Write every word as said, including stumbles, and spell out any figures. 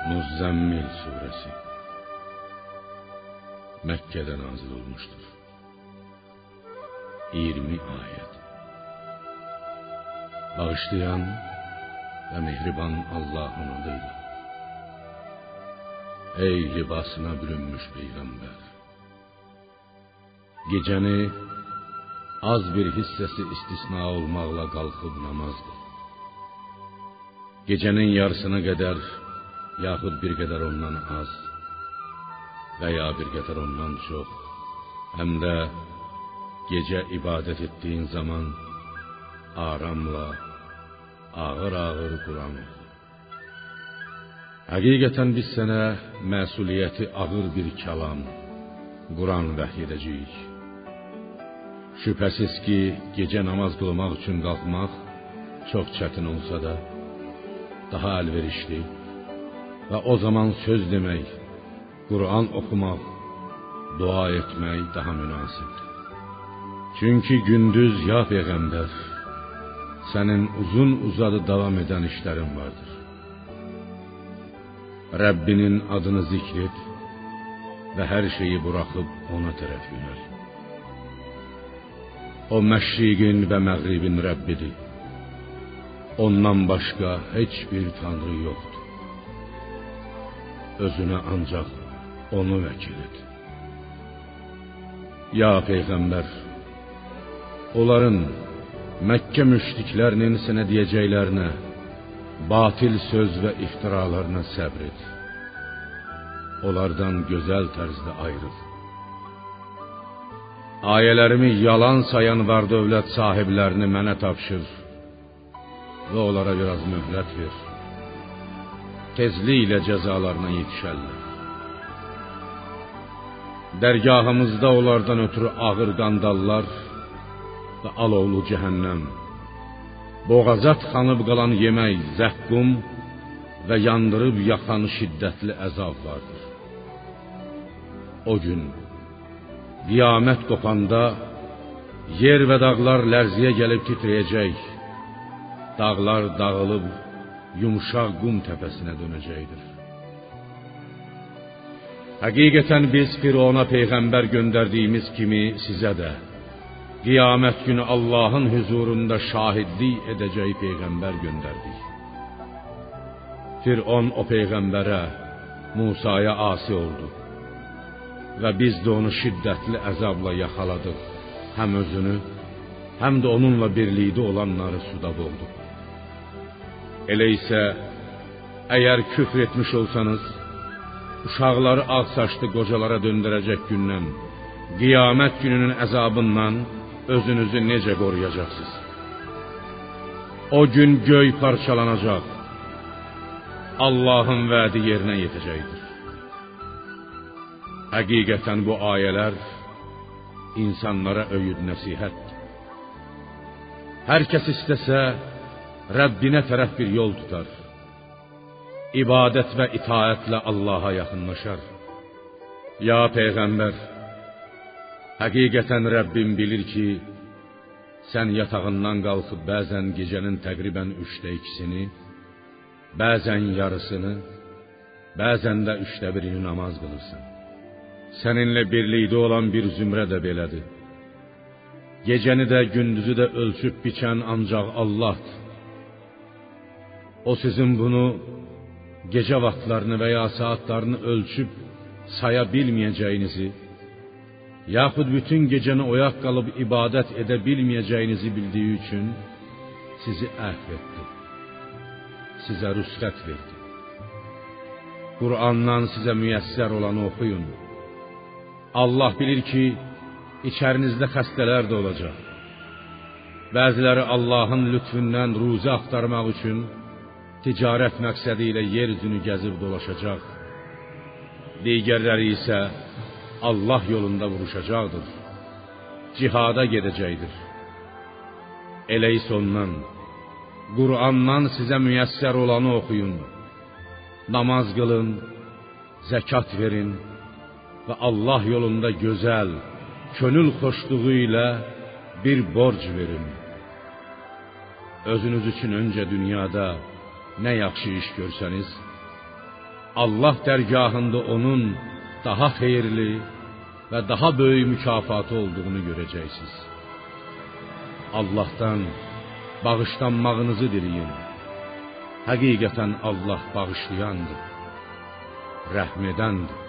Muzzəmmil suresi Məkkədə nazil olmuşdur. iyirmi ayet. Bağışlayan ve mehriban Allah'ın adıyla. Ey libasına bürünmüş peygamber! Gecəni az bir hissəsi istisna olmaqla qalxıb namaz qıl. Gecənin yarısına qədər yaxud bir qədər ondan az və ya bir qədər ondan çox, həm də gecə ibadət etdiyin zaman aramla, ağır-ağır Quran oxu. Həqiqətən biz sənə məsuliyyəti ağır bir kəlam, Quran vəhy edəcəyik. Şübhəsiz ki, gecə namaz qılmaq üçün qalxmaq çox çətin olsa da, daha əlverişli və o zaman söz demək, Quran oxumaq, dua etmək daha münasibdir. Çünki gündüz ya Peyğəmbər, sənin uzun uzadı davam edən işlərin vardır. Rəbbinin adını zikr et və hər şeyi buraxıb ona tərəf yönəl. O məşriqin və məğribin Rəbbidir. Ondan başqa heç bir tanrı yoxdur. Özünə ancaq onu vəkil et. Ya Peyğəmbər, onların, Məkkə müşriklərinin sənə deyəcəklərinə, batil söz və iftiralarına səbr et. Onlardan gözəl tərzdə ayrıl. Ayələrimi yalan sayan var dövlət sahiblərini mənə tapşır və onlara biraz möhlət ver. Tezliklə cəzalarına yetişərlər. Dərgahımızda onlardan ötürü ağır qandallar və alovlu cəhənnəm, boğazat xanıb qalan yemək, zəqqum və yandırıb yaxan şiddətli əzab vardır. O gün, qiyamət qopanda, yer və dağlar lərziyə gəlib titrəyəcək, dağlar dağılıb, yumuşaq qum təpəsinə dönəcəkdir. Həqiqətən biz Firona Peyğəmbər göndərdiyimiz kimi sizə də, qiyamət günü Allahın huzurunda şahidlik edəcək Peyğəmbər göndərdik. Firon o Peyğəmbərə, Musaya asi oldu və biz də onu şiddətli əzabla yaxaladıq, həm özünü, həm də onunla birlikdə olanları suda boğduq. Elə isə, əgər küfr etmiş olsanız, uşaqları ağ saçlı qocalara döndürəcək gündən, qiyamət gününün əzabından özünüzü necə qoruyacaqsınız? O gün göy parçalanacaq, Allahın vədi yerinə yetəcəkdir. Həqiqətən bu ayələr insanlara öyüd nəsihətdir. Hər kəs istəsə, Rəbbinə tərəf bir yol tutar. İbadət və itaətlə Allaha yaxınlaşar. Ya Peyğəmbər, həqiqətən Rəbbim bilir ki, sən yatağından qalxıb bəzən gecənin təqribən üçdə ikisini, bəzən yarısını, bəzən də üçdə birini namaz qılırsan. Səninlə birlikdə olan bir zümrə də belədir. Gecəni də, gündüzü də ölçüb biçən ancaq Allahdır. O sizin bunu gecə vaxtlarını və ya saatlarını ölçüb saya bilməyəcəyinizi, yaxud bütün gecəni oyaq qalıb ibadət edə bilməyəcəyinizi bildiyi üçün sizi əhv etdi, sizə rüsxət verdi. Qur'andan sizə müyəssər olanı oxuyun. Allah bilir ki, içərinizdə xəstələr də olacaq. Bəziləri Allahın lütfündən ruzi axtarmaq üçün ticarət məqsədi ilə yer üzünü gəzib dolaşacaq. Digərləri isə Allah yolunda vuruşacaqdır. Cihada gedəcəkdir. Elə isə ondan, Qur'andan sizə müyəssər olanı oxuyun. Namaz qılın, zəkat verin və Allah yolunda gözəl, könül xoşluğu ilə bir borc verin. Özünüz üçün öncə dünyada nə yaxşı iş görsəniz, Allah dərgahında onun daha xeyirli və daha böyük mükafatı olduğunu görəcəksiniz. Allahdan bağışlanmağınızı diləyin. Həqiqətən Allah bağışlayandır, rəhm edəndir.